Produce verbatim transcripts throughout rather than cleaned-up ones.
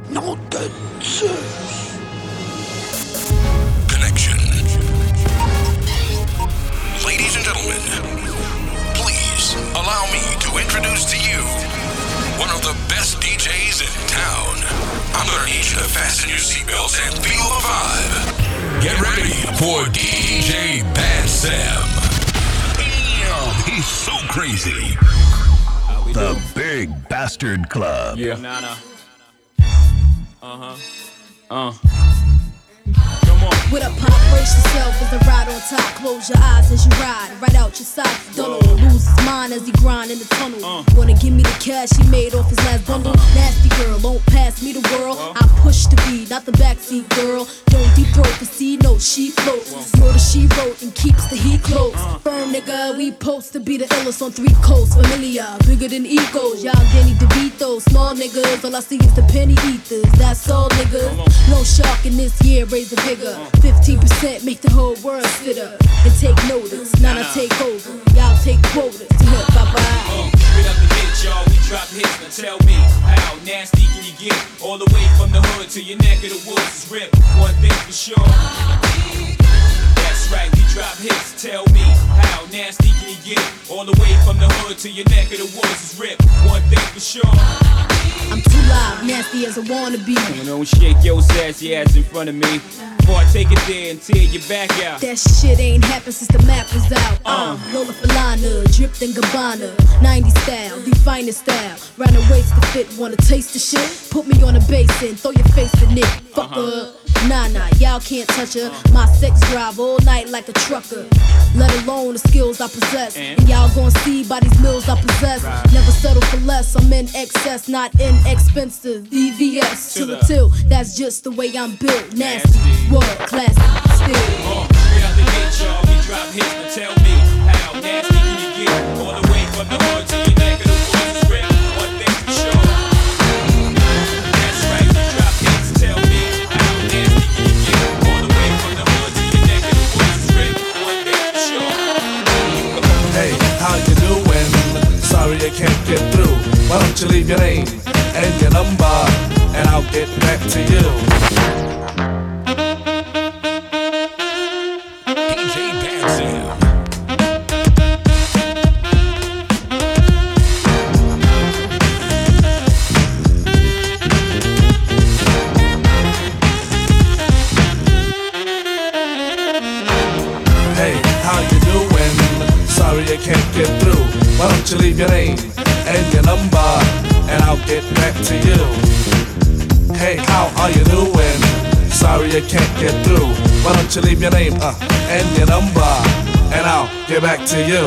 Nom de Zeus. Connection. Ladies and gentlemen, please allow me to introduce to you one of the best D Js in town. I'm gonna need you to fasten your seatbelts and feel the vibe. Get ready for D J Bad Sam. Damn, he's so crazy. The Big Bastard Club. Yeah. Nah, nah. Uh-huh. Uh. Come on. With a pop, brace yourself as I ride on top. Close your eyes as you ride, right out your sights. Don't lose his mind as he grind in the tunnel. Uh. Wanna give me the cash he made off his last bundle? Uh-huh. Nasty girl, won't pass me the world. Uh. I push the beat, not the backseat girl. Don't deep throat the C note, she floats. Murder she wrote and keeps the heat close. Uh. Firm nigga, we post to be the illest on three coasts. Familiar, bigger than egos. Y'all Danny DeVito, small niggas. All I see is the penny eaters. That's all niggas. No shark in this year, raise the bigger. fifteen percent make the whole world sit up and take notice. Now I take over. Y'all take quotas to hip bye bye. Uh, straight up the hit, y'all. We drop hits. Now tell me, how nasty can you get? All the way from the hood to your neck of the woods is ripped. One thing for sure. That's right, we drop hits. Tell me, how nasty can you get? All the way from the hood to your neck of the woods is ripped. One thing for sure. I'm too loud, nasty as I wanna be. You know, shake your sassy ass in front of me. Before I take it there and tear your back out. That shit ain't happened since the map was out. Uh, Lola Falana, dripped in Gabbana, nineties style, the finest style. Round the waist to fit, wanna taste the shit? Put me on a basin, throw your face in it. Fuck uh-huh. up. Nah, nah, y'all can't touch her. My sex drive all night like a trucker. Let alone the skills I possess. And, and y'all gon' see by these mills I possess. Right. Never settle for less, I'm in excess, not inexpensive. E V S to the till, that's just the way I'm built. Nasty, world class, still. Uh, straight out the gate, y'all, we drop hits. Now tell me, how nasty can you get? All the way from the hood to your neck of the woods is ripped. One thing for sure. That's right, we drop hits. Tell me, how nasty can you get? All the way from the hood to your neck of the woods is ripped. One thing for sure. Hey, how you doing? Sorry I can't get through. Why don't you leave your name and your number, and I'll get back to you. D J Bad Sam. Hey, how you doing? Sorry I can't get through. Why don't you leave your name and your number, and I'll get back to you. Hey, how are you doing? Sorry I can't get through. Why don't you leave your name uh, and your number, and I'll get back to you.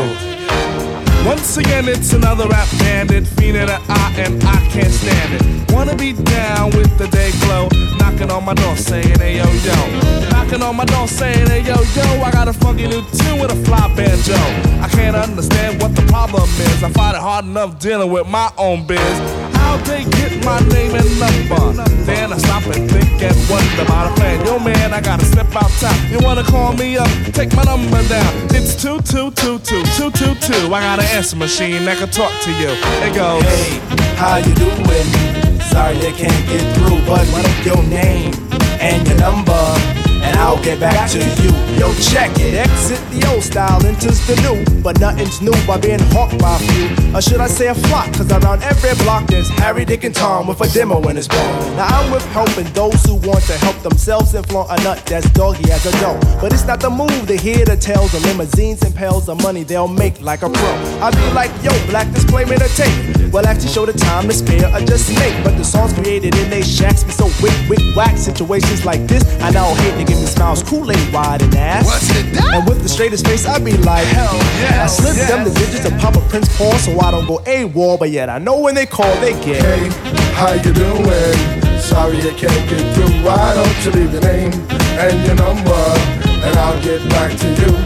Once again, it's another rap bandit, fiending an eye, and I can't stand it. Wanna be down with the day glow, knocking on my door saying, hey yo yo. Knocking on my door saying, hey yo yo, I got a funky new tune with a fly banjo. I can't understand what the problem is. I find it hard enough dealing with my own biz. How'd they get my name and number? Then I stop and think and wonder about a plan. Yo man, I gotta step out top. You wanna call me up? Take my number down. It's two two two two two two two. I got an answer machine that can talk to you. It goes, hey, how you doing? Sorry I can't get through, but what is your name and your number, and I'll get back to you. Yo, check it. Exit the old style, enters the new, but nothing's new by being hawked by a few. Or should I say a flock? Cause around every block there's Harry, Dick, and Tom with a demo in his bone. Now I'm with helping those who want to help themselves and flaunt a nut that's doggy as a dough. But it's not the move to hear the tales of limousines and pails of money they'll make like a pro. I be like, yo, black display made a tape. Well, actually show the time to spare or just make. But the songs created in they shacks be so wick, wick, whack. Situations like this, I now hate to give me smiles, Kool-Aid wide and ass. What's it done? And with the straightest face, I be like, hell yeah. I slip yes. them the digits of Papa Prince Paul so I don't go AWOL, but yet I know when they call, they get. Hey, how you doing? Sorry I can't get through. Why don't you leave your name and your number, and I'll get back to you.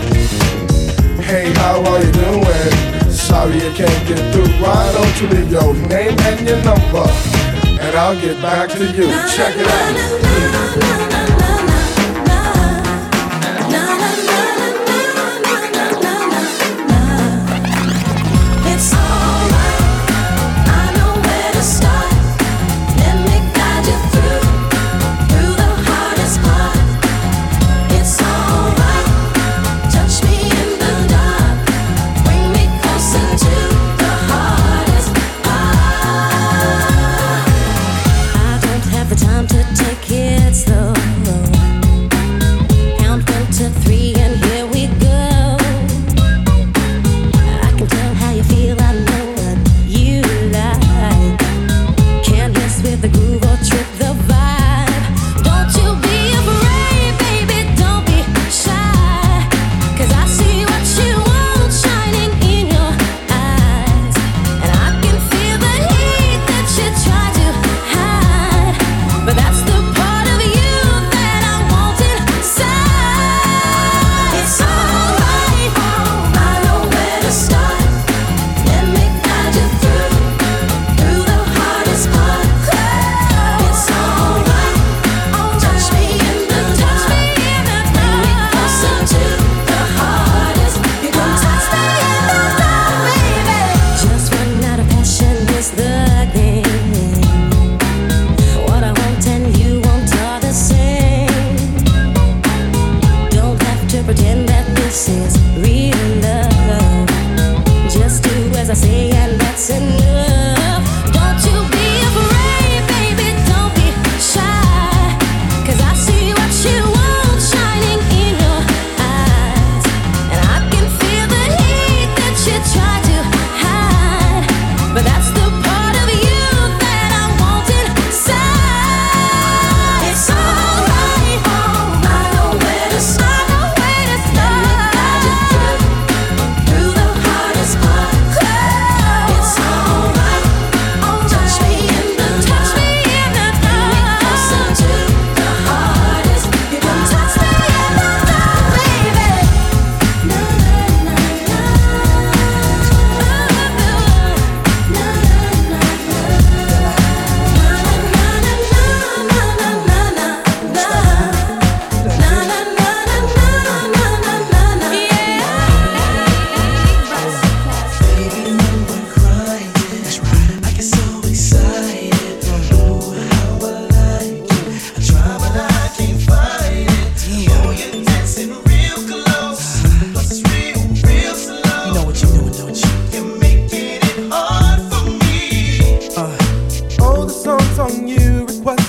Hey, how are you doing? Sorry I can't get through. Why don't you leave your name and your number, and I'll get back to you. Check it out. It's alright, I know where to start. Let me guide you through.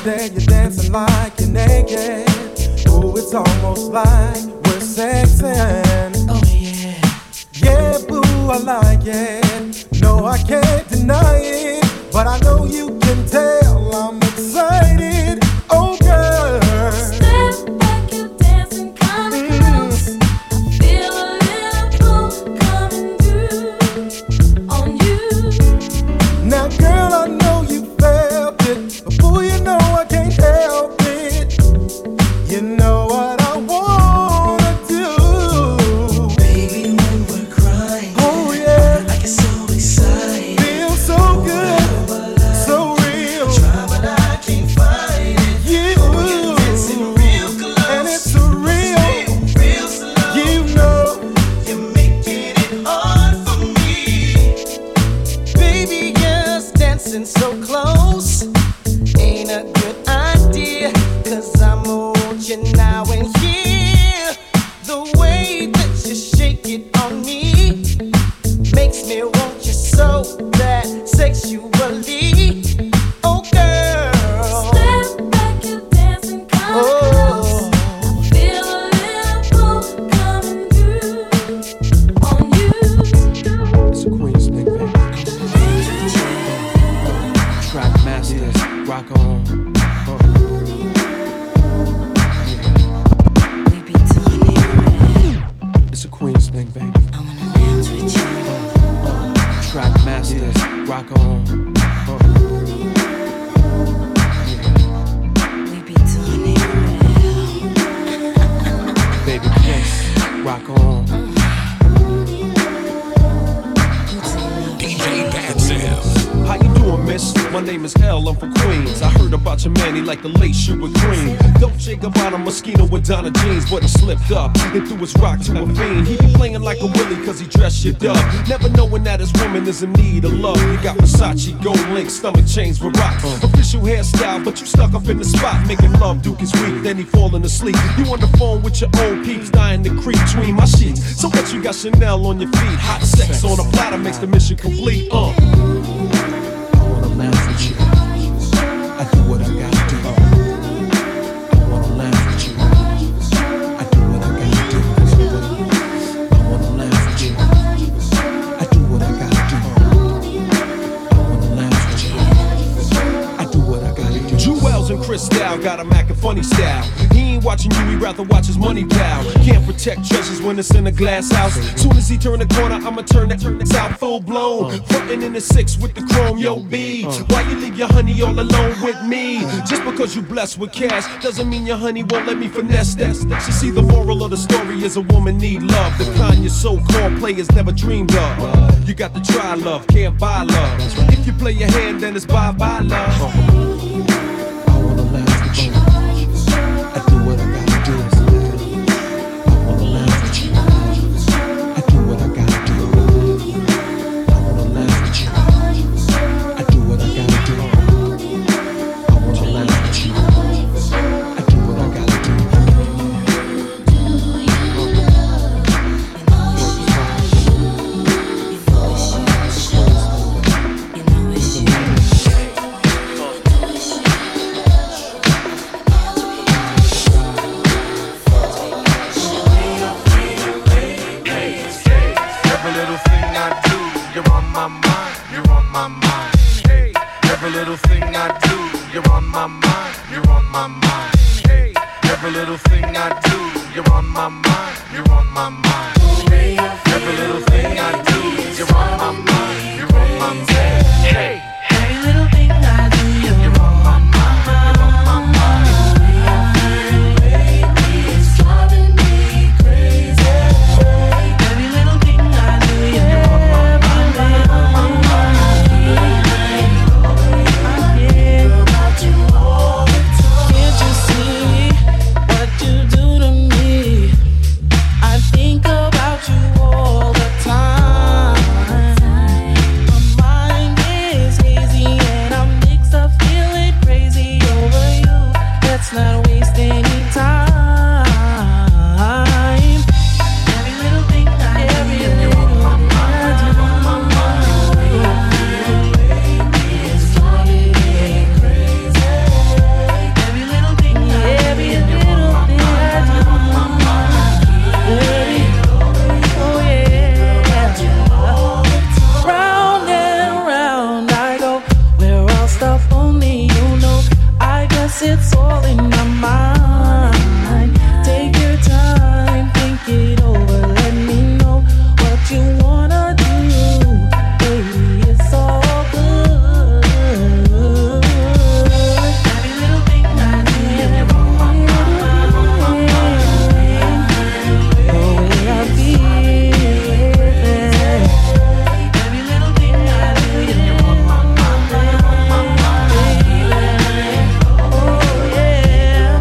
there you're dancing like you're naked. Ooh, it's almost like we're sexing. Oh yeah. Yeah, boo, I like it. No, I can't deny it, but I know you can tell I'm excited. Oh girl, step back, you dancing kinda close. I feel a little pull coming through on you. Now girl, I know you felt it, but boy, you know I can't help it. You know what I wanna do. Baby, when we're crying, oh yeah, I get so excited. Feel so good, so real. Try but I can't find it. You, oh, you're dancing real close, and it's a real, real slow. You know, you're making it hard for me. Baby, just dancing so close ain't a good idea, 'cause I'm on you now and here. The way that you shake it on me makes me want you so bad sexually. Oh girl, Step back, you dancing kinda close. I feel a little pull coming through on you. It's a Queen's thing, baby. Track masters, rock on. Uh. We be doing it. It's a Queen's thing, baby. I wanna dance with you. Track masters, rock on. Uh. We be doing it. Baby, yes, rock on. D J Pat Sam. How you doing, miss? My name is L, I'm from Queens. I heard about your man, he like the late shoe with cream. Dolce Gabbana Moschino with Donna jeans, but he slipped up and threw his rock to a fiend. He be playing like a Willie cause he dressed you up, never knowing that his woman is in need of love. You got Versace, gold link, stomach chains with rocks. Official hairstyle, but you stuck up in the spot. Making love, Duke is weak, then he falling asleep. You on the phone with your old peeps, dying to creep between my sheets. So what you got Chanel on your feet? Hot sex on a platter makes the mission complete. Uh. I wanna laugh with you. I do what I gotta do. I wanna laugh with you. I do what I gotta do. I wanna laugh with you. I do what I gotta do. I wanna laugh with you. I do what I gotta do. Jewels and Cristal got a Mac and funny style. He ain't watching you, he rather watch his money pal. Can't protect treasures when it's in a glass house. Soon as he turn the corner, I'ma turn that out full blown. Frontin' in the six with the chrome, yo B. Why you leave your honey all alone with me? Just because you blessed with cash doesn't mean your honey won't let me finesse that. She see the moral of the story is a woman need love, the kind your so-called players never dreamed of. You got to try love, can't buy love. If you play your hand, then it's bye-bye love. I wanna laugh with you. I do what I gotta do. I wanna laugh with you. I do what I gotta do. I wanna laugh with you. I do what I gotta do. I wanna laugh with you. I do what I gotta do. You know it's you. every little thing I do, you're on my mind, you're on my mind. Hey, every little thing I do, you're on my mind, you're on my mind. Hey, every little thing I do, you're on my mind, you're on my mind. Every little thing I do, you're on my mind, you're on my mind. Hey, Every little thing I do, you're on my mind. you're on my mind. It's driving me crazy. Every little thing I do, you're on my mind. I care about you all the time. Can't you see what you do to me? I think about you all the time. My mind is Yes, it's all in my mind. Take your time, think it over. Let me know what you wanna do. Baby, it's all good. Every little thing I do, you're on my mind. The way I feel it. Every little thing I do, you're on my mind. Oh yeah.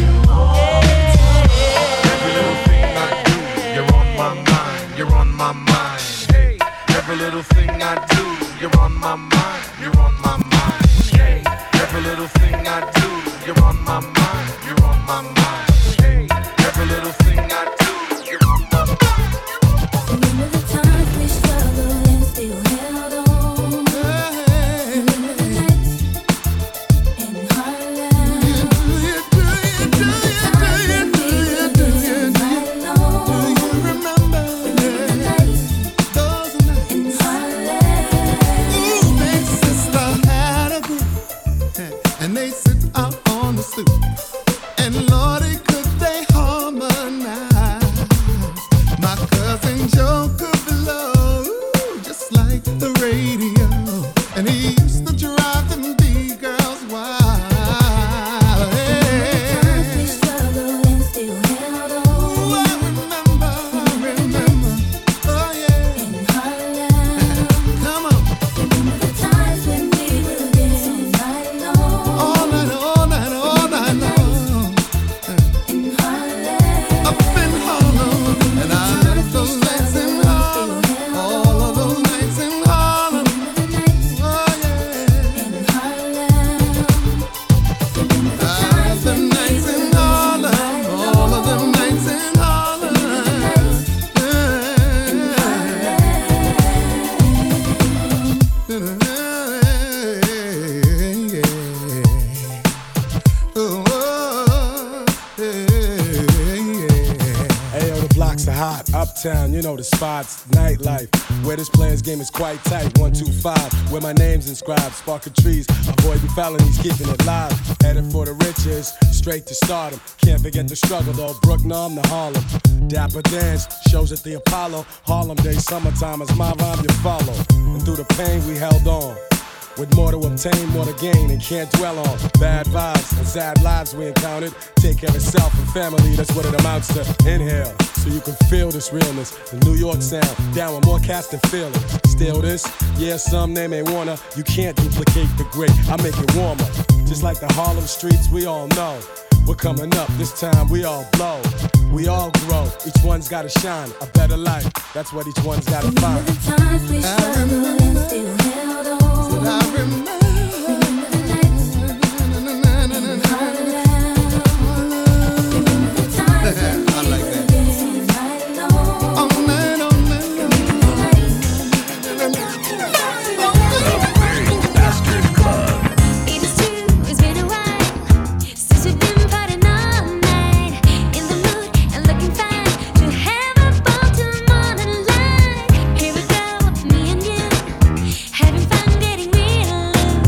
Every little thing I do, you're on my mind, you're on my mind. Hey, every little thing I do, you're on my mind, you're on my mind. Hey, every little thing I do, you're on my mind, you're on my mind. Hey, every little thing I do, you're on my mind. Remember the times we struggled and still held on. Remember the nights in Harlem. Remember the times when we would dance right along. Remember the nights in Harlem. Big sister had a group, and they sit out on the stoop. And Lordy, could they harmonize? My cousin Joe could blow just like the radio, and he used to drive them B-girls wild. Remember the times we struggled and still held on. Ooh, I remember, I remember, oh yeah. In Harlem. Come on, Remember the times when we would dance right along. all night, all night, all night long, In Harlem. up in Harlem, and I left those nights in Harlem, all of those nights in Harlem, Remember the nights oh yeah. in Harlem. Remember the I left times them when we nights would in dance Harlem, right all of them along. nights in Harlem. Ayo, the blocks are hot. Uptown, you know the spots. Nightlife, where this player's game is quite tight. One, two, five, where my name's inscribed. Sparking trees, avoiding felonies, keeping it live. Headed for the riches, straight to stardom. Can't forget the struggle though. Brooklyn to Harlem. Dapper dance, shows at the Apollo. Harlem Day, summertime is my rhyme you follow. And through the pain we held on. With more to obtain, more to gain, and can't dwell on bad vibes and sad lives we encountered. Take care of self and family, that's what it amounts to. Inhale, so you can feel this realness. The New York sound, down with more cats than feel it. Still this, yeah, some they may wanna. You can't duplicate the great, I make it warmer. Just like the Harlem streets, we all know. We're coming up, this time we all blow. We all grow, each one's gotta shine. A better life, that's what each one's gotta Remember find. the times we struggled and still held on. I remember. Remember the nights in Harlem. Remember the times when I like we that. would dance right along. All night, all night. It is true, it's been a while since we've been partying all night. In the mood and looking fine to have a ball till morning light. Here we go, me and you, having fun getting real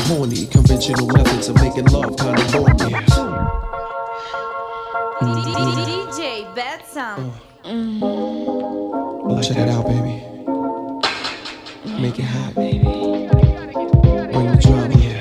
horny. Conventional methods of making love kinda bore me. D J Betsom. Well, check it out, baby. Make it hot, baby. Bring the drama here.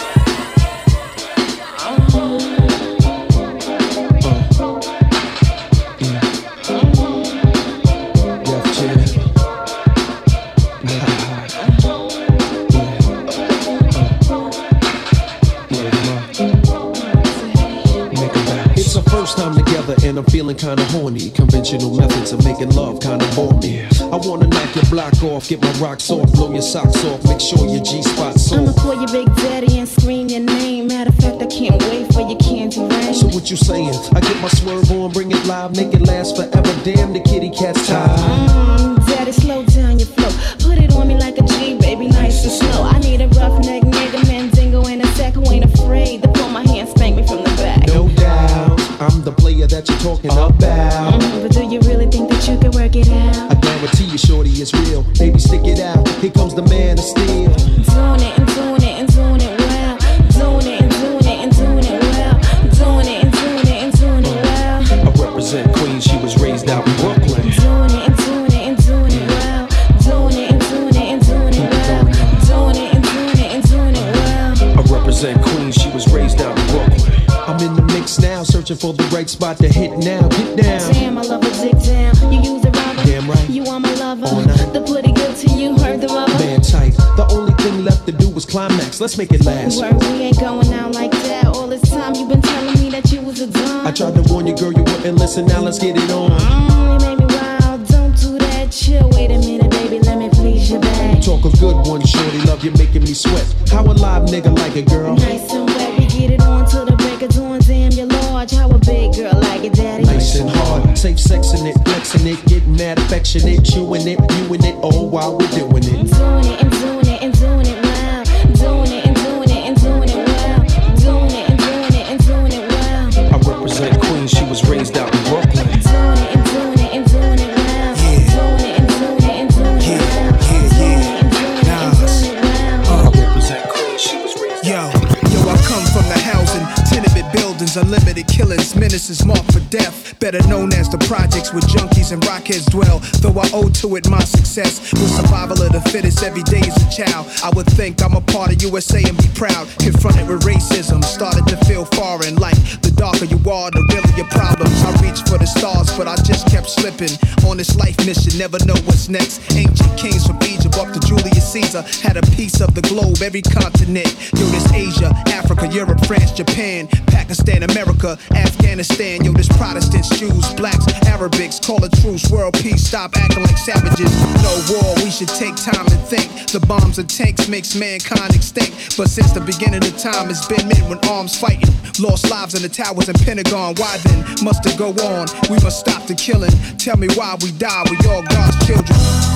Time together and I'm feeling kinda horny. Conventional methods of making love kinda bore me. I wanna knock your block off, get my rocks off, blow your socks off, make sure your G-spot's I'ma off. call you Big Daddy and scream your name. Matter of fact, I can't wait for your candy rain. So what you saying? I get my swerve on, bring it live, make it last forever. Damn, the kitty cat's tired. Mm, Daddy, slow down your flow. Put it on me like a G, baby, nice and slow. I need a roughneck nigga, Mandingo, and a sack who ain't afraid to pull my hand, spank me from the back. No doubt, I'm the player that you're talking about. Mm, but do you really think that you can work it out? I guarantee you, shorty, it's real. Baby, stick it out. Here comes the man of steel. Doing it and doing it and doing it well. Doing it and doing it and doing it well. Doing it and doing it and doing it well. I represent Queens, she was raised out in Brooklyn. Doing it and doing it and doing it well. Doing it and doing it and doing it well. Doing it and doing it and doing it well. I represent Queens, she was raised out in Brooklyn. I'm in the mix now, searching for the right spot to hit now. Get down. Damn, I love a dick down. You use a rubber. Damn right. You are my lover. All night. The pretty good to you, heard the rubber. Man tight. The only thing left to do was climax. Let's make it last. Word, we ain't going out like that. All this time you been telling me that you was a dumb. I tried to warn you, girl, you wouldn't listen. Now let's get it on. Mm, you made me wild. Don't do that. Chill. Wait a minute, baby. Let me please you back. Talk a good one, shorty. Love you making me sweat. How a live nigga like a girl? Nice and wet. We get it on till the break of dawn. Damn, you're large. How a big girl like it, daddy? Nice and hard. Safe sexing it, flexing it, getting mad affectionate, chewing it, viewing it, all while we're doing it. Doing it and doing it and doing it well. Doing it and doing it and doing it well. Doing it and doing it and doing it well. I represent Queens, she was raised out in Brooklyn. Doing it and doing it and doing it well. Doing it and doing it and doing it well. Doing it and doing it and doing it well. I represent Queens, she was raised Yo, yo, I come from the housing, tenement buildings, unlimited killings, menaces marked for death. Better known as the projects where junkies and rockheads dwell. Though I owe to it my success, with survival of the fittest every day as a child. I would think I'm a part of U S A and be proud. Confronted with racism, started to feel foreign. Like the darker you are, the realer your problems. I reached for the stars, but I just kept slipping. On this life mission, never know what's next. Ancient kings from Egypt up to Julius Caesar had a piece of the globe, every continent. Yo, this Asia, Africa, Europe, France, Japan, Pakistan, America, Afghanistan. Yo, this Protestants, Jews, blacks, Arabics, call a truce, world peace, stop acting like savages. No war, we should take time and think. The bombs and tanks makes mankind extinct. But since the beginning of time, it's been men with arms fighting. Lost lives in the towers and Pentagon. Why then must it go on? We must stop the killing. Tell me why we die, we all God's children.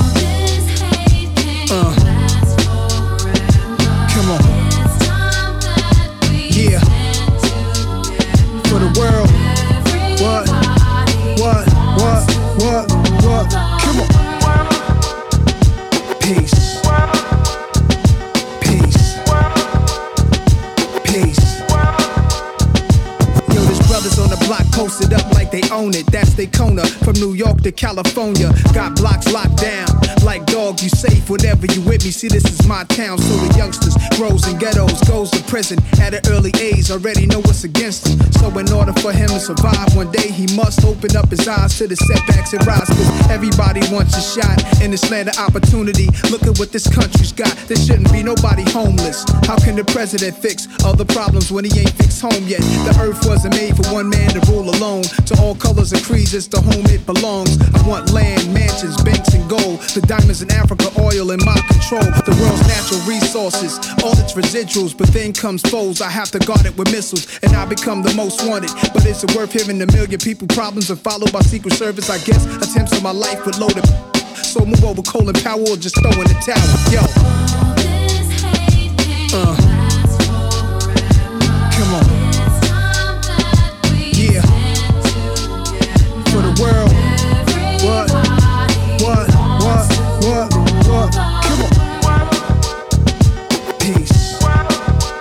Uh. Come on. Yeah. For the world. What? What? What? What? What? Come on. Peace. Peace. Peace. Yo, there's brothers on the block posted up like they own it. That's Daytona. From New York to California. Got blocks locked down. Like dog, you safe whenever you with me. See, this is my town, so the youngsters grows in ghettos, goes to prison at an early age. Already know what's against him. So in order for him to survive, one day he must open up his eyes to the setbacks and rise. Cause everybody wants a shot in this land of opportunity. Look at what this country's got. There shouldn't be nobody homeless. How can the president fix all the problems when he ain't fixed home yet? The earth wasn't made for one man to rule alone. To all colors and creeds, it's the home it belongs. I want land, mansions, banks, and gold. The diamonds in Africa, oil in my control. The world's natural resources, all its residuals. But then comes foes, I have to guard it with missiles. And I become the most wanted. But is it worth hearing a million people problems are followed by Secret Service? I guess attempts on my life with loaded. So move over Colin Powell or just throw in the towel. Yo. Uh. Come on. Yeah. For the world. What? What? What? What? What? Come on. Peace.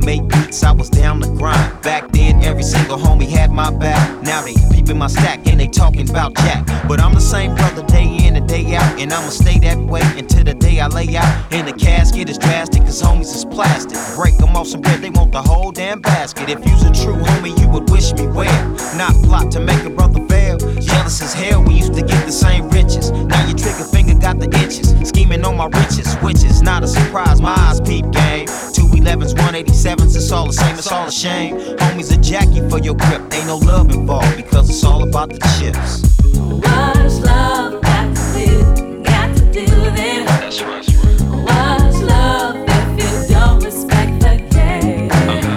made beats, I was down the grind. Back then, every single homie had my back. Now they peeping my stack and they talking about Jack. But I'm the same brother day in and day out, and I'ma stay that way until the day I lay out. In the casket is drastic, cause homies is plastic. Break them off some bread, they want the whole damn basket. If you's a true homie, you would wish me well. Not plot to make a brother fail. Jealous as hell, we used to get the same riches. Now your trigger finger got the itches. Scheming on my riches, which is not a surprise. My eyes peep game. two elevens, one eighty-sevens, it's all the same, it's all a shame. Homies a Jackie for your grip. Ain't no love involved because it's all about the chips. What's love got to do? Got to do then. That's right. What's love if you don't respect the game?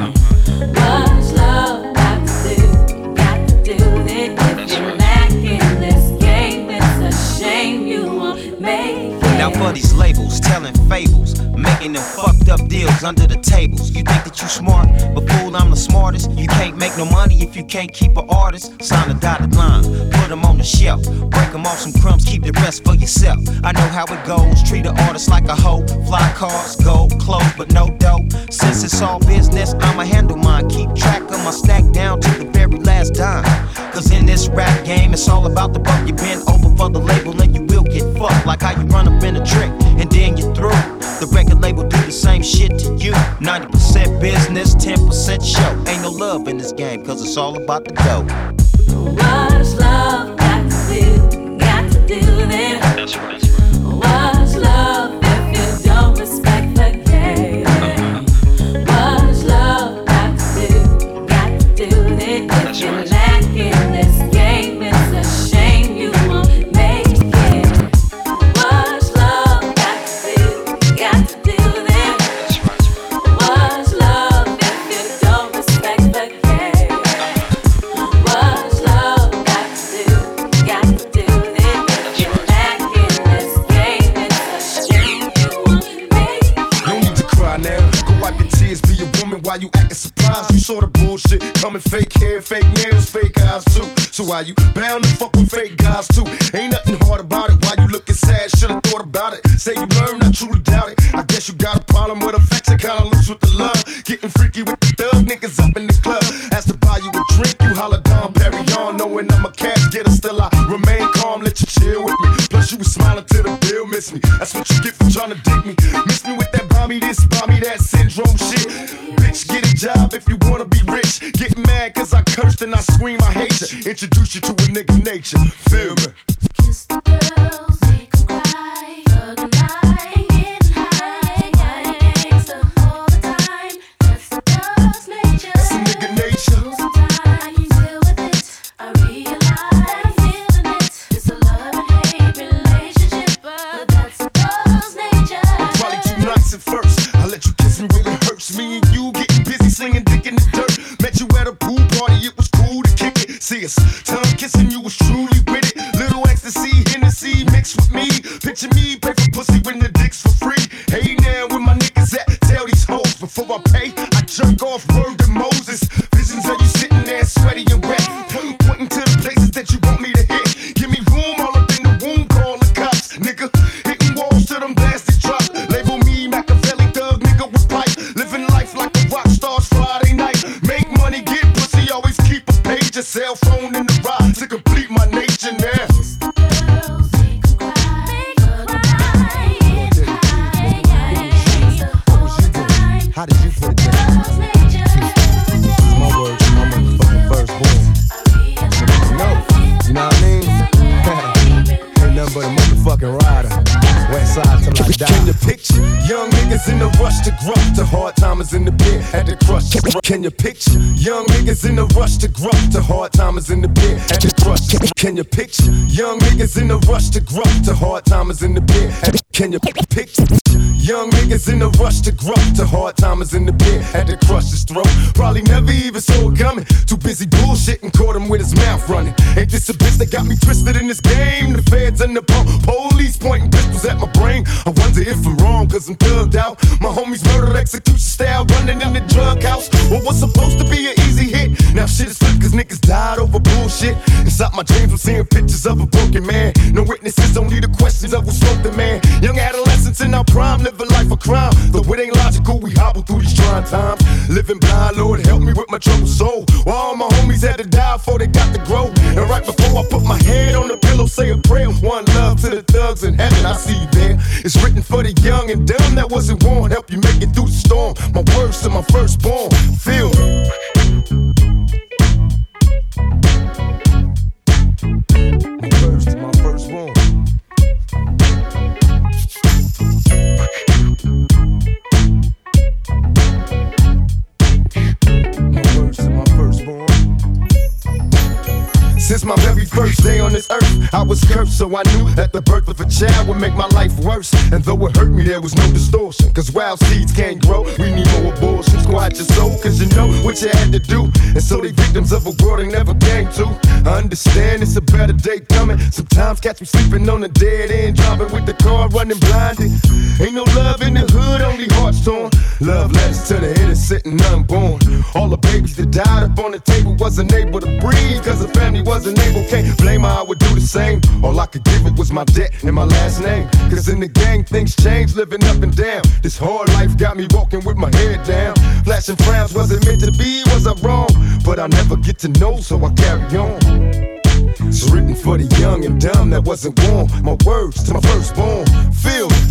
What's love got to do? Got to do then. If you're lacking this game, it's a shame you won't make it. Now for these labels, telling fables, making them fucked up deals under the tables. You think that you smart, but fool, I'm the smartest. You can't make no money if you can't keep an artist. Sign a dotted line, put them on the shelf. Break them off some crumbs, keep the rest for yourself. I know how it goes, treat an artist like a hoe. Fly cars, gold, clothes, but no dough. Since it's all business, I'ma handle mine. Keep track of my stack down to the very last dime. Cause in this rap game, it's all about the buck. You bend over for the label and you will get fucked. Like how you run up in a trick and then you're through. The record label do the same shit to you. ninety percent business, ten percent show. Ain't no love in this game, cause it's all about the dough. What's love got to do? Got to do then. That's right. What's love if you don't respect the game? What's love got to do? Got to do then. If you're lacking this game, it's a shame you won't make it. What's love got to do? Got to do then. What's love if you don't respect the game? What's love got to do? Got to do then. If you're lacking this game, it's a shame you won't make it. No need to cry now. Go wipe your tears, be a woman while you acting surprised. You saw the bullshit coming, fake hair, fake nails, fake eyes too. So why you bound to fuck with fake guys too? Ain't nothing hard about it. Why you looking sad? Should've thought about it. Say you learned, I truly doubt it. I guess you got a problem with affection, kinda loose with the love. Getting freaky with the thug niggas up in the club. Asked to buy you a drink, you holla down, Perry on. Knowing I'm a cash getter, still I remain calm, let you chill with me. Plus you was smiling till the bill miss me. That's what you get for trying to dig me. Miss me with that buy me this, buy me that syndrome shit. Bitch, get a job if you wanna be rich. Get mad cause I cursed and I scream I hate you. Introduce you to a nigga nature, feel me? Kiss the girls, make them cry. Thug and I, getting high. Gangsta all the time. That's the thug's nature. That's a nigga nature. Sometimes I can deal with it. I realize that I'm feeling it. It's a love and hate relationship, but that's the thug's nature. I'm probably too nice at first. I let you kiss me when it hurts. Me and you getting busy slinging dick in the dirt. Met you at a pool party, it was cool to kick it. See us, tongue kissing, you was truly with it. Little ecstasy, Hennessy mixed with me. Picture me, pay for pussy when the dick's for free. Hey now, where my niggas at? Tell these hoes before I pay, I jerk off word to Moses. Visions of you sitting there sweaty and wet, pointing to the places that you want me to hit. Give me room all up in the womb, call the cops, nigga. Hitting walls till them blasted drop. Label me Machiavelli thug, nigga with pipe. Living life like a rock star's Friday night. Make money, get pussy, always keep a page. A cell phone in the ride to complete my nature now. How did you put it down? This is my words from my motherfucking firstborn. No, you know what I mean? Ain't nothing but a motherfucking rider. West side till I die. Can you picture young niggas in the rush to grow? The hard timers in the pit at the crush. Can you picture young niggas in the rush to grow? The hard timers in the pit at the crush. Can you picture young niggas in the rush to grow? The hard timers in the pit at the Can you picture young niggas in the rush to grow? The hard timers in the pit at the crush's throat. Probably never even saw it coming. Too busy bullshitting, caught him with his mouth running. Ain't this a bitch that got me twisted in this game? The feds and the po- police pointing pistols at my brain. I wonder if I'm wrong, cause I'm thugged out. My homies murdered execution style, running in the drug house. What was supposed to be an easy hit, now shit is flipped cause cause niggas died over bullshit. Inside my dreams, I'm seeing pictures of a broken man. No witnesses, only the questions of who smoked the man. Young adolescents in our prime, live a life of crime. Though it ain't logical, we hobble through these trying times. Living blind, Lord, help me with my troubled soul. While all my homies had to die before they got to grow. And right before I put my head on the pillow, say a prayer. One love to the thugs in heaven, I see you there. It's written for the young and dumb that wasn't born. Help you make it through the storm. My words to my firstborn. Feel me. My words to my firstborn. My words to my firstborn. Since my very first day on this earth, I was cursed, so I knew that the birth of a child would make my life worse. And though it hurt me, there was no distortion, cause wild seeds can't grow. We need more abortions. Quiet your soul, cause you know what you had to do. And so they victims of a world they never came to. I understand it's a better day coming. Sometimes catch me sleeping on a dead end, driving with the car running blinded. Ain't no love in the hood, only hearts torn. Love letters to the innocent and unborn. All the babies that died up on the table wasn't able to breathe, cause the family wasn't able. Can't blame her, I would do the same. All I could give it was my debt and my last name. Cause in the gang things change, living up and down. This hard life got me walking with my head down. Flashing frowns, was it meant to be, was I wrong? But I never get to know, so I carry on. It's written for the young and dumb that wasn't born. My words to my firstborn. Feel me.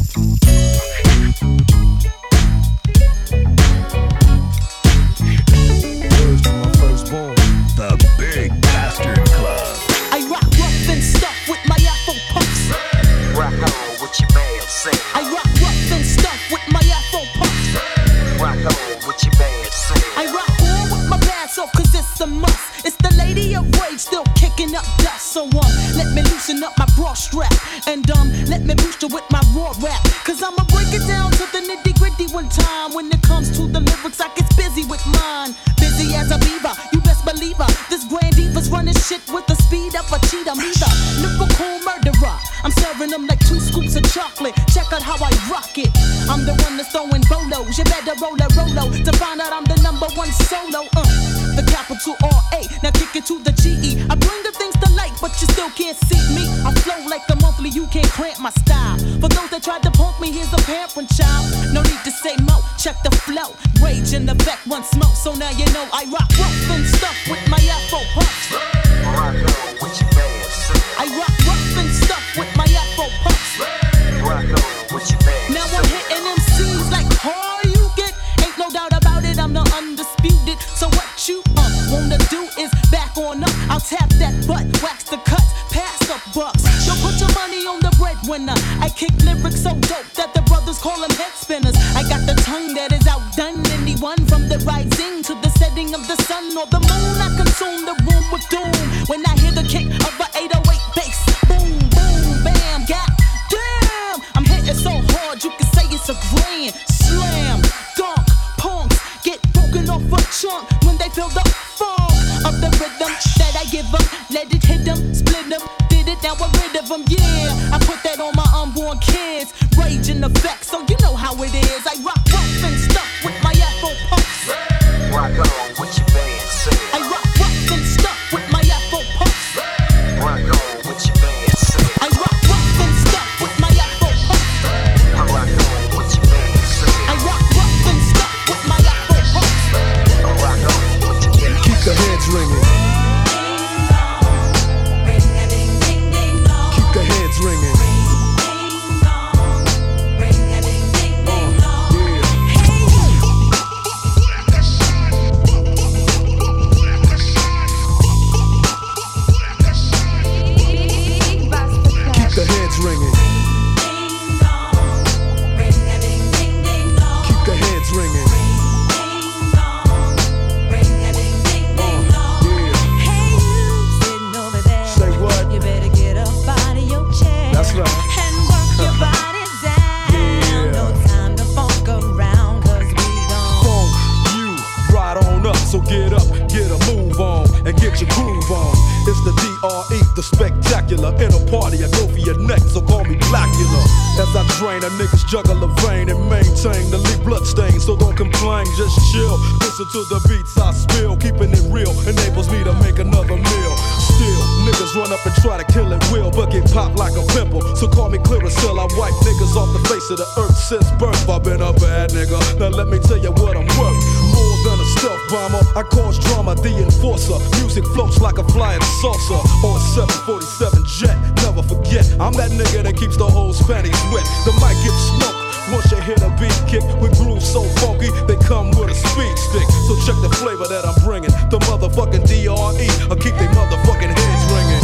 Words to my firstborn. The Big Bastard Club. I rock rough and stuff with my Afro puffs. Rock on with your band, sing. I rock rough and stuff with my Afro puffs. Rock on with your band, sing. I rock on with my pants off cause it's a must. It's the lady of rage still kicking up dust. So um, let me loosen up my bra strap. And um, let me boost you with my raw rap. Cause I'ma break it down to the nitty gritty one time. When it comes to the lyrics I get busy with mine. Busy as a beaver, you best believe her. This grand diva's running shit with the speed of a cheetah. Me the lyrical murderer. I'm serving them like two scoops of chocolate. Check out how I rock it. I'm the one that's throwing bolos. You better roll a rolo to find out I'm the number one solo. Uh, the capital R A. Now kick it to the G E. I bring the things to light, but you still can't see me. I flow like the monthly, you can't cramp my style. For those that tried to punk me, here's a parent child. No need to say mo, check the flow. Rage in effect, one smoke, so now you know I rock rough and stuff with my Afro puffs. Rock on with your band, sing. I rock rough and stuff with my Afro puffs. Rock on with your band, now I'm hitting M Cs like hard you get. Ain't no doubt about it, I'm the undisputed. So what you uh, wanna do is back on up. I'll tap that butt, wax the cuts, pass the bucks. Don't put your money on the breadwinner. I kick lyrics so dope that the brothers call them head spinners. I got the tongue that is outdone anyone. From the rising to the setting of the sun or the moon, I consume the room with doom. When I hear the kick of a eight oh eight bass, boom, boom, bam, god damn. I'm hitting so hard you can say it's a grand slam. Dunk, punks get broken off a chunk when they feel the funk of the rhythm that I give them. Let it hit them, split them, did it, now I'm rid of them. Yeah, I put that on my unborn kids. Rage in effect, so you know how it is. I rock rough and stuff with my Afro puffs. Rock on with your band, sing. I rock rough and stuff with my Afro puffs. Rock on with your band, sing. I rock rough and stuff with my Afro puffs. I rock on with your band, sing. I rock rough and stuff with my Afro puffs. I rock on with your band. Keep the heads ringing. Keep the heads ringing. Keep the heads ringing. Keep the heads ringing. up, so get up, get a move on, and get your groove on. It's the D R E, the spectacular. In a party, I go for your neck, so call me Blackula. As I drain, a niggas juggle a vein and maintain the lead blood stain. So don't complain, just chill. Listen to the beats I spill. Keeping it real enables me to make another meal. Still, niggas run up and try to kill it will, but get popped like a pimple. So call me Clearasil, I wipe niggas off the face of the earth since birth. I've been a bad nigga, now let me tell you what I'm worth. More than a stealth bomber, I cause drama, the enforcer. Music floats like a flying saucer or a seven forty-seven jet. Never forget, I'm that nigga that keeps the whole panties wet. The mic gets smoked once you hit a beat kick with grooves so funky, they come with a speed stick. So check the flavor that I'm bringing. The motherfucking D R E, I keep they motherfucking heads ringing.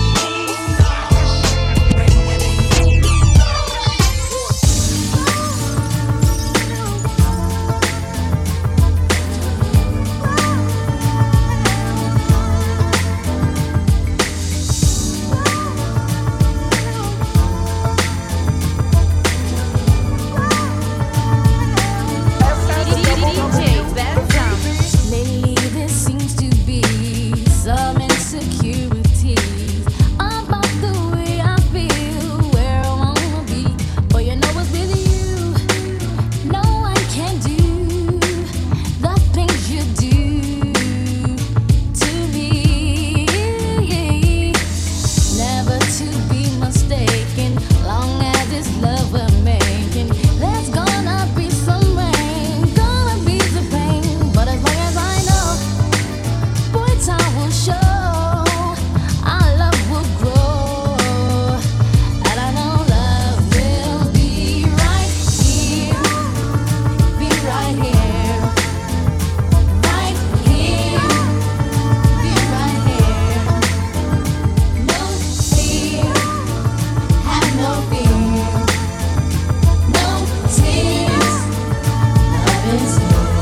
Lately there seems to be some insecurities about the way I feel, where I wanna be. But you know it's with you, no one can do the things you do to me. Never to be mistaken, long as it's love we're making. There's gonna be some rain, gonna be the pain, but as long as I know, boy, time will show, our love will grow, and I know love will be right here, be right here, right here, be right here. No fear, have no fear, no tears, love is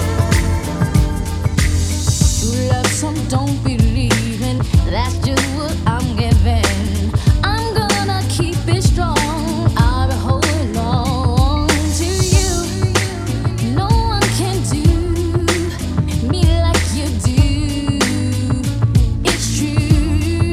true love, some don't believe in. That's just what I'm giving. I'm gonna keep it strong. I'll be holding on to you. No one can do me like you do. It's true.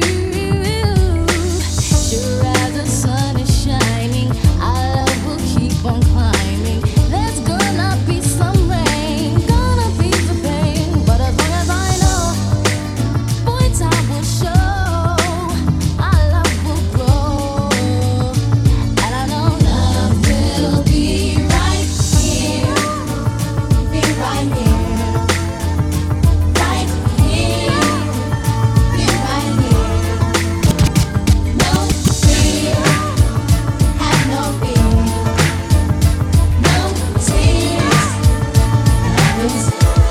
Sure as the sun is shining, our love will keep on climbing. There's gonna be some rain, gonna be the pain, but as long as I know, boy, time will show, our love will grow, and I know love will be right here, be right here, right here, be right here. No fear, have no fear, no tears, love is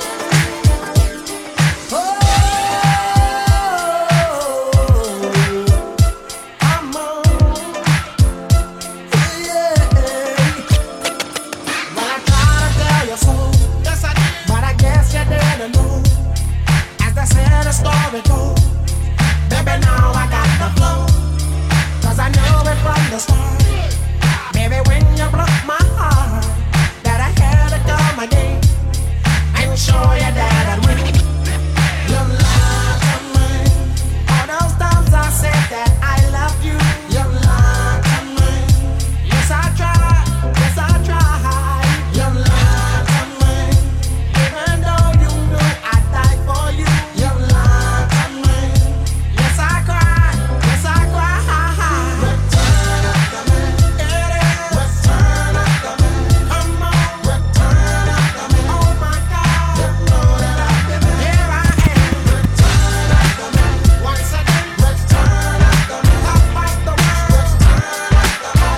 Show you that I win. You lied to me. All those times I said that I love you. You lied to me. Yes, I tried. Yes, I tried. You lied to me. Even though you knew I'd die for you. You lied to me. Yes, I cried. Yes, I cried. Return up to me. It is. Return up to me. Come on. Return up to me. Oh my God. You know that I've been here. I am. Return up to me. Once again. Return up to me. I'll fight the world. Return up to me.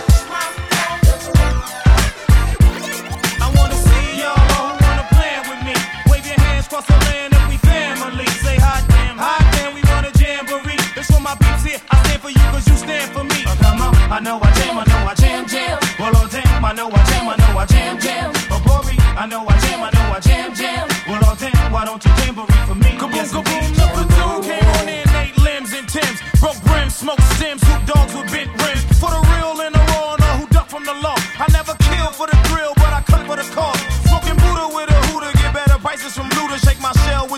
I wanna see y'all wanna plan with me. Wave your hands across the land if we family. Say hot damn, hot damn, we want a jamboree. That's for my peeps here. I stand for you cause you stand for me. Uh, come on, I know I jam, I know I jam, jam. Well, oh damn, I know I jam, I know I jam, jam. Oh, Bobby, I know I jam, I know I jam, jam. Well, oh damn, why don't you jamboree for me? Kaboom, yes, kaboom, number two came on in eight limbs and Timbs. Broke brims, smoke stems, hoop dogs with bent rims. For the real and the raw, and all who duck from the law. I never kill for the thrill, but I cut for the cause. Smoking Buddha with a hooter, get better prices from Luda. Shake my shell with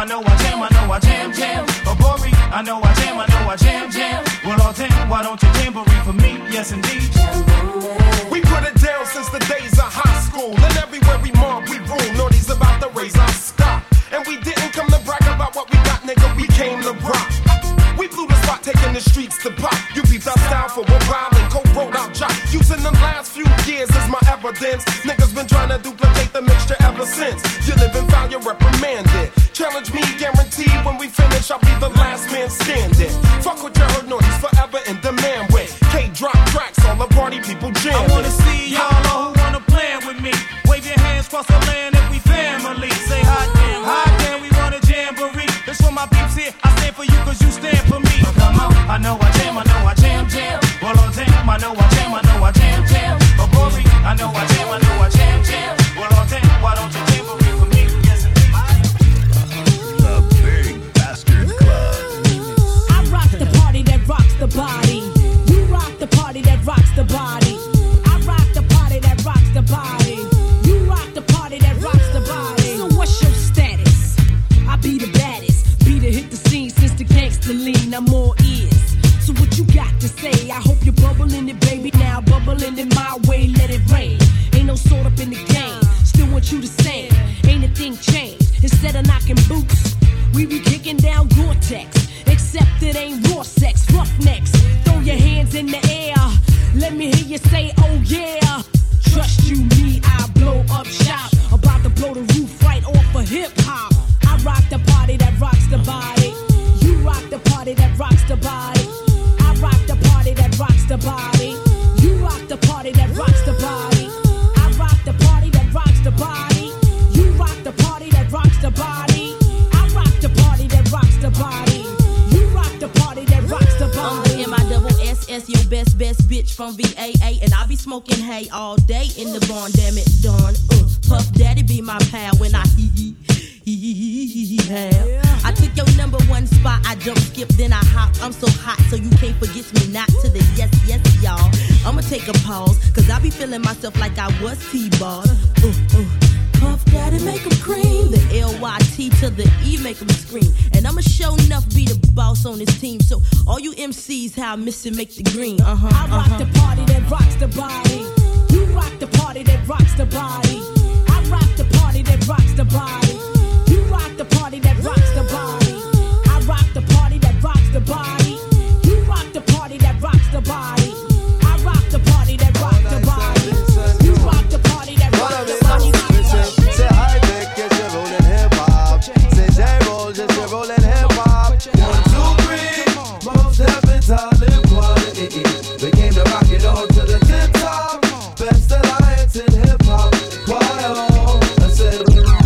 know I jam, I know I jam, jam. Abori, I know I jam, I know I jam, jam. Well, all damn, why don't you jamboree for me? Yes, indeed. We put it down since the days of high school. And everywhere we mob, we rule. Naughty's about to raise our stock. And we didn't come to brag about what we got, nigga. We came to rock. We blew the spot, taking the streets to pop. You beat our style for a while and co-wrote our job. Using the last few years as my evidence. Niggas been trying to duplicate the mixture ever since. You live and foul, you're reprimanded. Challenge me, guaranteed when we finish, I'll be the last man standing. Fuck with your herd noise, forever in demand with K-drop tracks, all the party people jam. I wanna see y'all all who wanna plan with me. Wave your hands across the land if we family. Say hot damn, hot damn, we want a jamboree. This for my peeps here, I stand for you cause you stand for me. So come on, I know I jam, I know I jam, jam. Well, oh damn, I know I jam, I know I jam, jam. Abori, I know I jam, I know I jam, jam. Well, oh damn, why don't you jamboree for me? Yes, The Big Bastard Club. I rock the party that rocks the body. You rock the party that rocks the body. I rock the party that rocks the body. You rock the party that rocks the body. So what's your status? I be the baddest. Be the hit the scene since the gangster lean. I'm all ears. So what you got to say? I hope you're bubbling it, baby. Now bubbling it my way, let it rain. Ain't no sort up in the game. Still want you the same. Ain't a thing changed. Instead of knocking boots, we be kicking down Gore-Tex. Except it ain't raw sex, roughnecks. Throw your hands in the air. Let me hear you say, oh yeah. Trust you, me, I blow up shop. About to blow the roof right off of hip-hop. I rock the party that rocks the body. You rock the party that rocks the body. I rock the party that rocks the body. You rock the party that rocks the body. I rock the party that rocks the body. You rock the party that rocks the body. I rock the party that rocks the body. You rock the party that rocks the body. I'm the M I double S S, your best, best bitch from V A A. And I be smoking hay all day in the barn, damn it, darn. Uh, Puff Daddy be my pal when I hee hee. Yeah. I took your number one spot, I jump, skip, then I hop. I'm so hot, so you can't forget me. Not to the yes, yes, y'all. I'ma take a pause, cause I be feeling myself like I was T-Ball. Uh, uh. Puff Daddy make 'em cream. The L Y T to the E make 'em scream. And I'ma show enough be the boss on this team. So all you M Cs, how I miss it, make the green. Uh-huh, I rock uh-huh. the party that rocks the body. You rock the party that rocks the body. I rock the party that rocks the body. You rock the party that rocks the body. I rock the party that rocks the body. You rock the party that rocks the body. I rock the party that rocks the body. You rock the party that rocks the body. Say hi, Vic, yes, you're rolling hip hop. Say J-Roll, just you're rolling hip hop. One, two, three, most heavens are live quality. We came to rock it on to the tip top. Best alliance in hip hop. Why, oh, I said,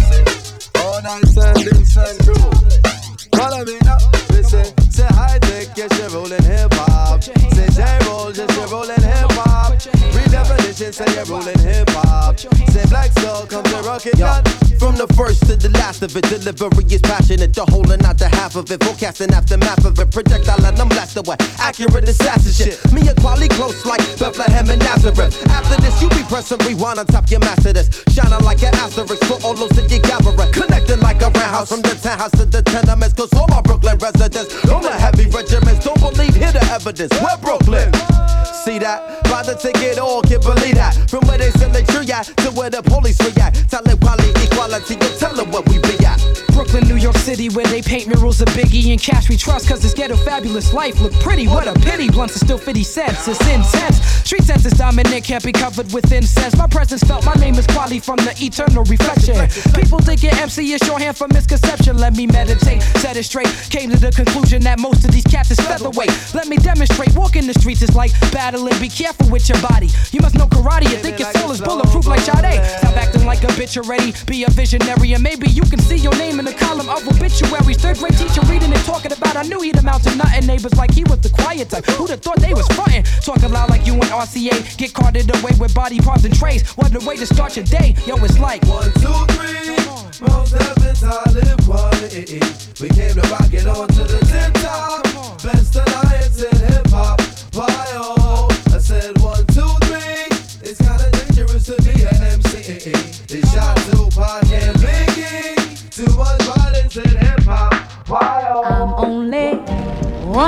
all nice and loose and true. Follow me now, listen. Say hi, Vic, yes, you're rolling hip hop. Say J-Roll, just you're rolling hip hop. Redefinition, say you're rolling hip hop. Say Black Soul, come to rock it down. From the first to the last of it, delivery is passionate. The whole and not the half of it. Forecasting aftermath of it. Projectile and I'm blast away. Accurate assassin shit. Me and Quali close like Bethlehem and Nazareth. After this, you be pressing rewind on top your master this. Shining like an asterisk for all those that you gathering. Connecting like a roundhouse from the townhouse to the tenements. Cause all my Brooklyn residents, all the heavy regiments, don't believe, hear the evidence. We're Brooklyn. See that? Buy the ticket, all can believe that. From where they sell the tree at to where the police react. Tell them quality, equality, you tell them what we be at. Brooklyn, New York City, where they paint murals of Biggie and Cash we trust. Cause this ghetto fabulous life look pretty. What a pity, blunts are still fifty cents. It's intense. Street sense is dominant, can't be covered with incense. My presence felt, my name is Quali from the eternal reflection. People thinking M C is shorthand for misconception. Let me meditate, set it straight. Came to the conclusion that most of these cats is featherweight. Let me demonstrate, walking the streets is like battling. Be careful with your body. You must know karate, you think your soul is bulletproof like Sade. Stop acting like a bitch already, be a visionary. And maybe you can see your name in the column of obituaries. Third grade teacher reading and talking about I knew he'd amount to nothing. Neighbors like he was the quiet type. Who'd have thought they was frontin'? Talking loud like you and R C A. Get carted away with body parts and trays. What a way to start your day. Yo, it's like one, two, three. Most heavens are live quality. We came to rock it on to the tip top. Best alliance in hip hop. Why, oh, I said one, two, three. It's kinda dangerous to be an M C. They shot Tupac and Biggie. Too much violence in hip hop.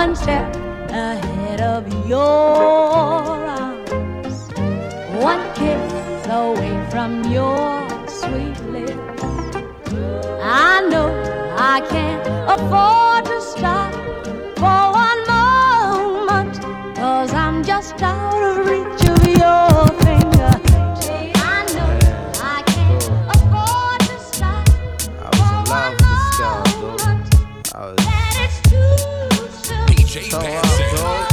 one step ahead of your arms, one kiss away from your sweet lips. I know I can't afford to stop for one moment, 'cause I'm just out of reach of your finger. I know I can't afford to stop for one moment. That it's too soon. D J so, Benson. Uh,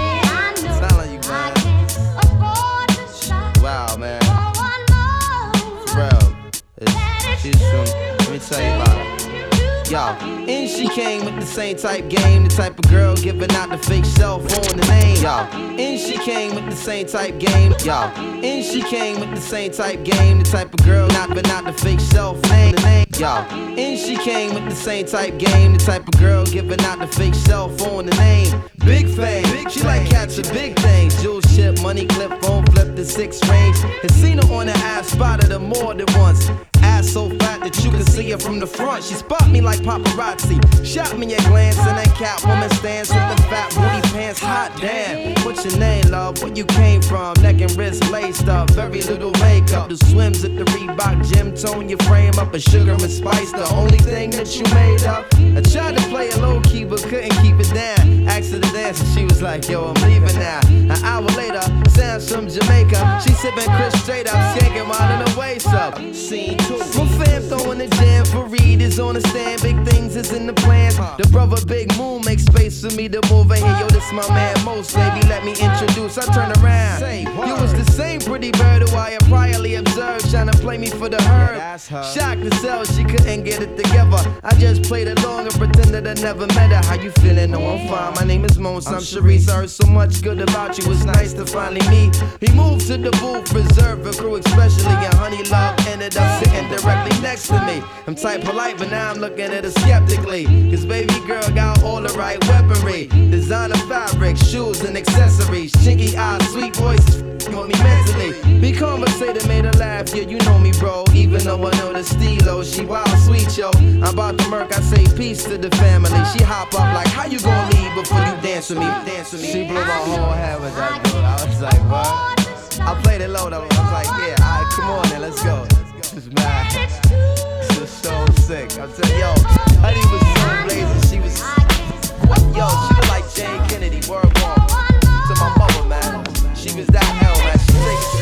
I know telling you, man. I can't afford to stop wow, man. for one moment. For real. It's, she's from, let me tell you about it. Yo, and she came with the same type game, the type of girl giving out the fake cell phone the name. Yo, and she came with the same type game. Yo, and she came with the same type game, the type of girl not but not the fake cell phone the name. Yo, and she came with the same type game, the type of girl giving out the fake cell phone the name. Big fame, she like catching big things. Jewel ship, money clip, phone flip the six range. And seen her on the ass, spotted her more than once. Ass so fat that you can see her from the front. She spot me like paparazzi. Shot me a glance and that cat woman stands with the fat booty pants. Hot damn. What's your name, love? Where you came from? Neck and wrist laced up. Very little makeup. The swims at the Reebok gym tone your frame up. A sugar and spice, the only thing that you made up. I tried to play it low key but couldn't keep it down. Asked her to dance and she was like, yo, I'm leaving now. An hour later, sounds from Jamaica. She sipping Chris straight up, skanking while in her waist up. Scene two. My fam throwing the jam for Reed is on the stand. Big things is in the plans. The brother Big Moon makes space for me to move in here. Yo, this my man Most, baby, let me introduce. I turn around. You was the same pretty bird who I had priorly observed, trying to play me for the herd. Shocked to sell, she couldn't get it together. I just played along and pretended I never met her. How you feeling? No, I'm fine. My name is Mons. I'm Sharice. I heard so much good about you. It's nice to finally meet. He moved to the booth, reserved for crew, especially. And Honey Love ended up sitting directly next to me. I'm type polite, but now I'm looking at her skeptically. Cause baby girl got all the right weaponry. Designer fabric, shoes and accessories. Chinky eyes, sweet voices, got me mentally. Be conversated, made her laugh, yeah, you know me, bro. Even though I know the stilo, she wild sweet, yo. I'm about to murk, I say peace to the family. She hop up like, how you gonna leave before you dance with me? Dance with me. She blew my whole head with that dude. I was like, what? I played it low though. I was like, yeah, alright, come on then, let's go. This is mad. This is so sick. I'm telling yo, Honey was so blazing. She was, yo, she was like Jane Kennedy, word bomb. To my mother, man. She was that hell, man. She takes it.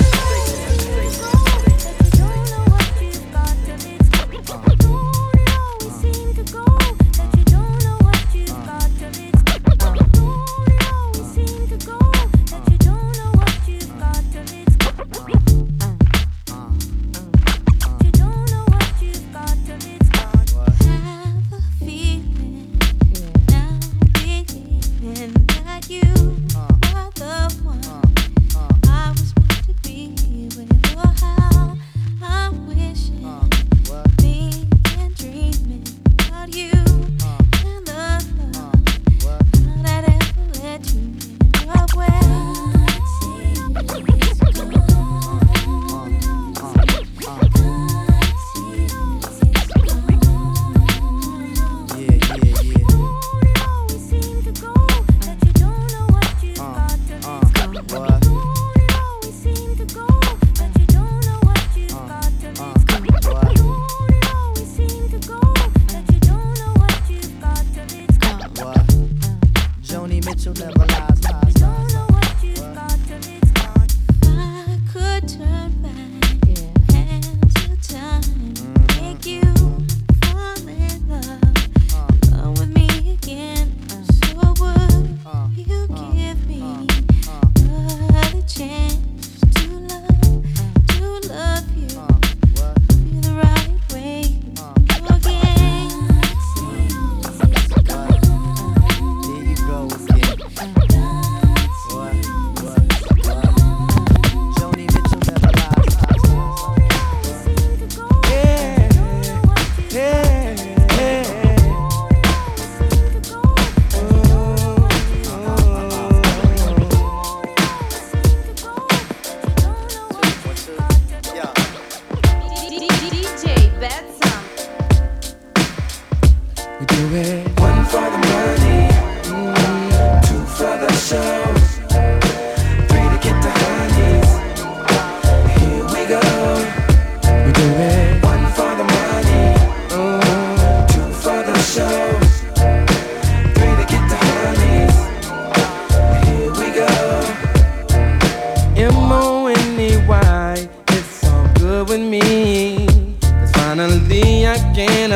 You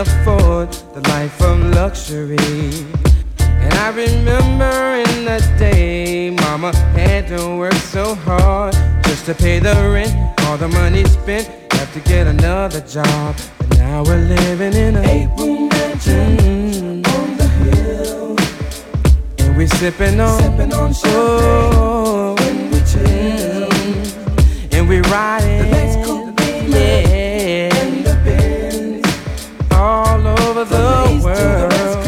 afford the life of luxury. And I remember in the day, mama had to work so hard just to pay the rent. All the money spent, have to get another job. But now we're living in a eight-room mansion mm, on the hill. And we sipping on, sipping on champagne oh, when we chill. Mm, and we riding the next coupe, yeah, and the Benz all over the, the world.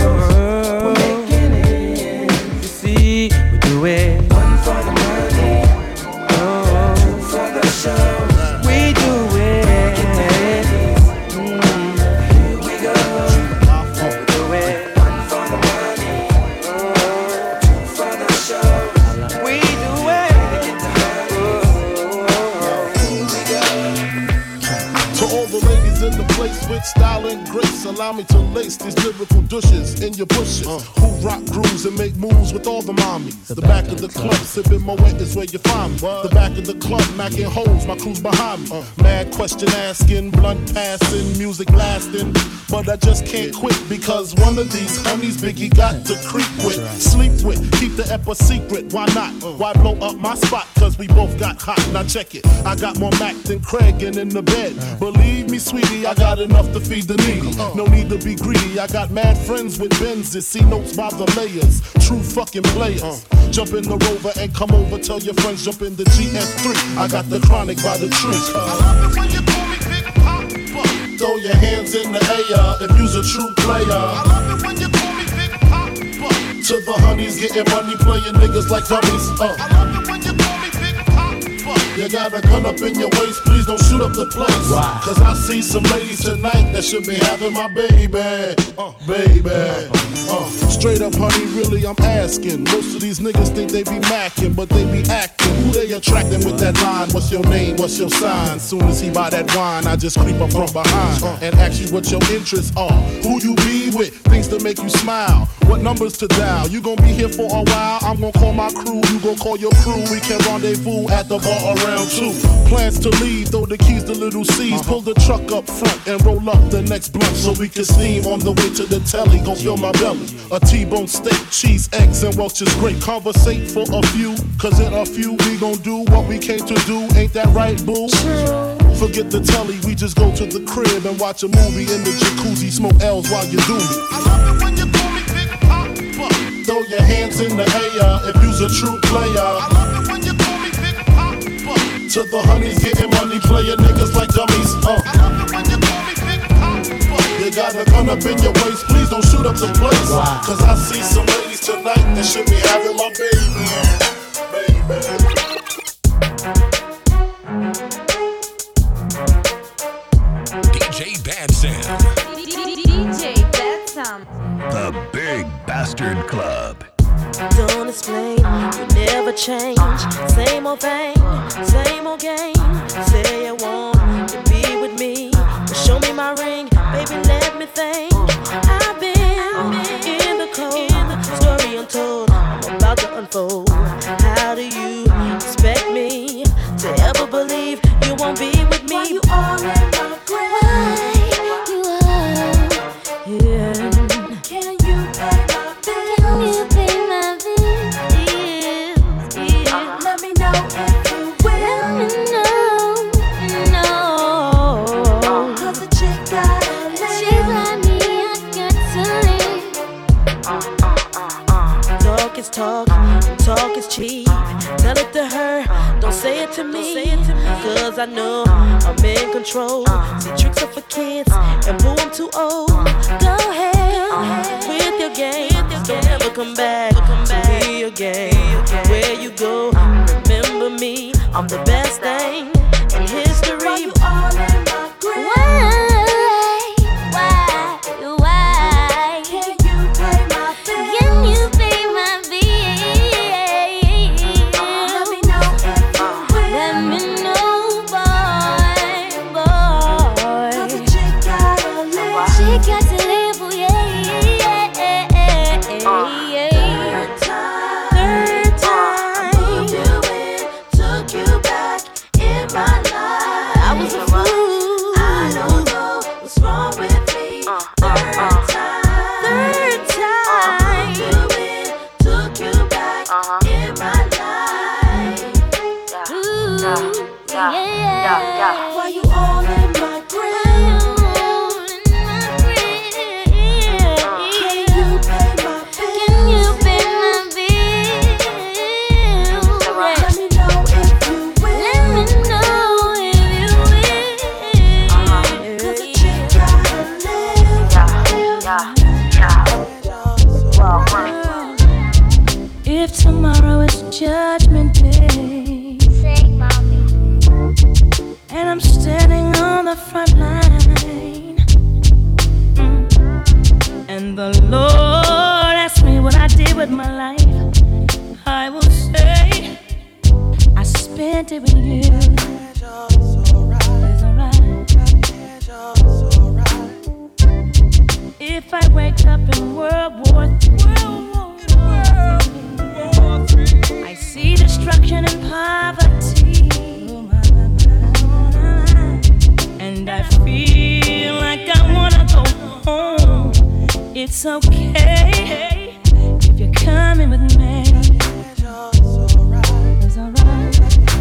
Style and grace, allow me to lace these lyrical douches in your bushes. Uh, who rock grooves and make moves with all the mommies. The, the back, back of the club, sipping Moet is where you find me. What? The back of the club, macking holes, my crew's behind me. Uh, Mad question asking, blunt passing, music lasting. But I just can't quit because one of these homies Biggie got to creep with, right. Sleep with, keep the ep a secret. Why not? Uh, Why blow up my spot? Cause we both got hot. Now check it. I got more Mac than Craig and in the bed. Right. Believe me, sweetie, I got enough to feed the needy. No need to be greedy. I got mad friends with Benzes, see notes by the layers. True fucking players. Jump in the Rover and come over. Tell your friends jump in the G S three. I got the chronic by the tree. I love it when you call me Big Papa. Throw your hands in the air if you's a true player. I love it when you call me Big Papa. To the honeys getting money, playing niggas like dummies. Uh. I love it when you call me Big Papa. You got a gun up in your waist, please don't shoot up the place. Wow. Cause I see some ladies tonight that should be having my baby. Uh, baby. Uh, straight up, honey, really, I'm asking. Most of these niggas think they be macking, but they be acting. Who they attracting with that line? What's your name? What's your sign? Soon as he buy that wine, I just creep up from behind and ask you what your interests are. Who you be with? Things to make you smile. What numbers to dial? You gon' be here for a while. I'm gon' call my crew. You gon' call your crew. We can rendezvous at the bar around two. Plans to leave, throw the keys to little C's. Pull the truck up front and roll up the next blunt so we can steam on the way to the telly. Gon' fill my belly. A T-bone steak, cheese, eggs, and Welch's grape. Conversate for a few, cause in a few we gon' do what we came to do. Ain't that right, boo? Forget the telly, we just go to the crib and watch a movie in the jacuzzi. Smoke L's while you do me. I love it when you call me Big Papa. Throw your hands in the air if you's a true player. I love it when you call me Big Papa. To the honeys getting money, playing niggas like dummies. Uh. I love it when you call me Big Papa. You got a gun up in your waist, please don't shoot up the place. Wow. Cause I see some ladies tonight that should be having my baby. Baby. D J Bad Sam. D J Bad Sam. The Big Bastard Club. Don't explain, you never change. Same old thing, same old game. Say you want to be with me, but show me my ring, baby, let me think. I've been in the cold, story untold, I'm about to unfold. How do you expect me to ever believe you won't be with me? Why you all in my grave? You are, yeah. Can you pay my bills? Can you pay my bills? Yeah. Let me know if you will. Let me know, no. Cause the chick got a chick like me, I got to leave. Talk is talk, talk is cheap. Tell it to her, don't say it to me. Cause I know I'm in control. See, tricks are for kids, and boo, I'm too old. Go ahead with your game. Don't ever come back to me again. Where you go, remember me. I'm the best thing in history. Why you all in my grave? Why? Why? Why? Can you pay my bills? Can you pay my bills? Let me know if you will. Let me know, boy, boy. Cause a chick gotta live. She got to live, oh yeah, yeah, yeah, yeah. Third time, third time, I moved you in, took you back in my Why you all in my grill? Can you pay my bills? Can you pay my bills? Let me know if you will. Let me know if you will. Cause a chick gotta live. If tomorrow is Judgment Day, sing, mommy. And I'm standing on the front line, mm. and the Lord asked me what I did with my life, I will say I spent it with you. It's alright. If I wake up in World War Three, I see destruction and poverty, and I feel like I wanna go home. It's okay if you're coming with me. It's alright. It's alright.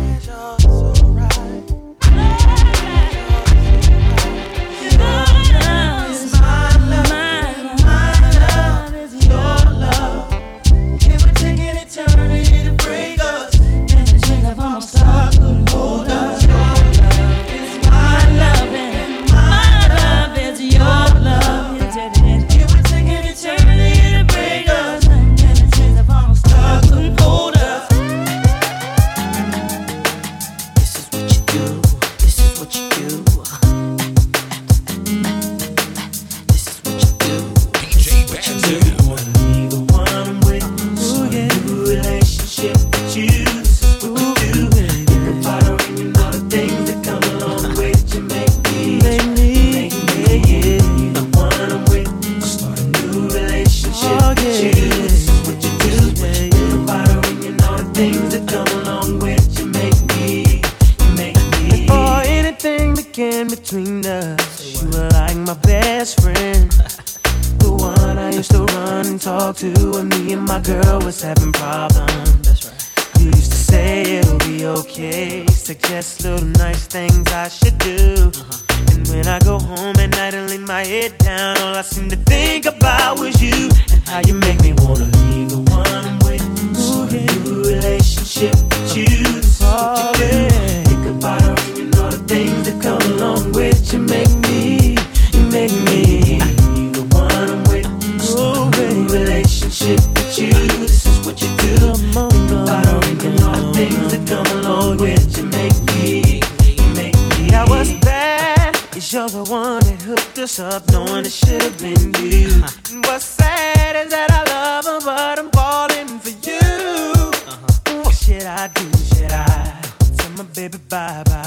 Between us, you were like my best friend, the one I used to run and talk to when me and my girl was having problems. That's right. You used to say it'll be okay, suggest little nice things I should do. Uh-huh. And when I go home at night and lay my head down, all I seem to think about was you and how you make me wanna leave the one I'm with. Start a new relationship with you. That's what you do. Think about her and you know the things that come along with you. Make me, you make me. I need the one I'm with. Start a new relationship with you. This is what you do. Think about her and you know the things that come along with you. Make me, you make me. Now what's bad is you're the one that hooked us up, knowing it should have been you. And what's sad is that I love her, but I'm falling for you. Uh-huh. What should I do? Should I tell my baby bye bye?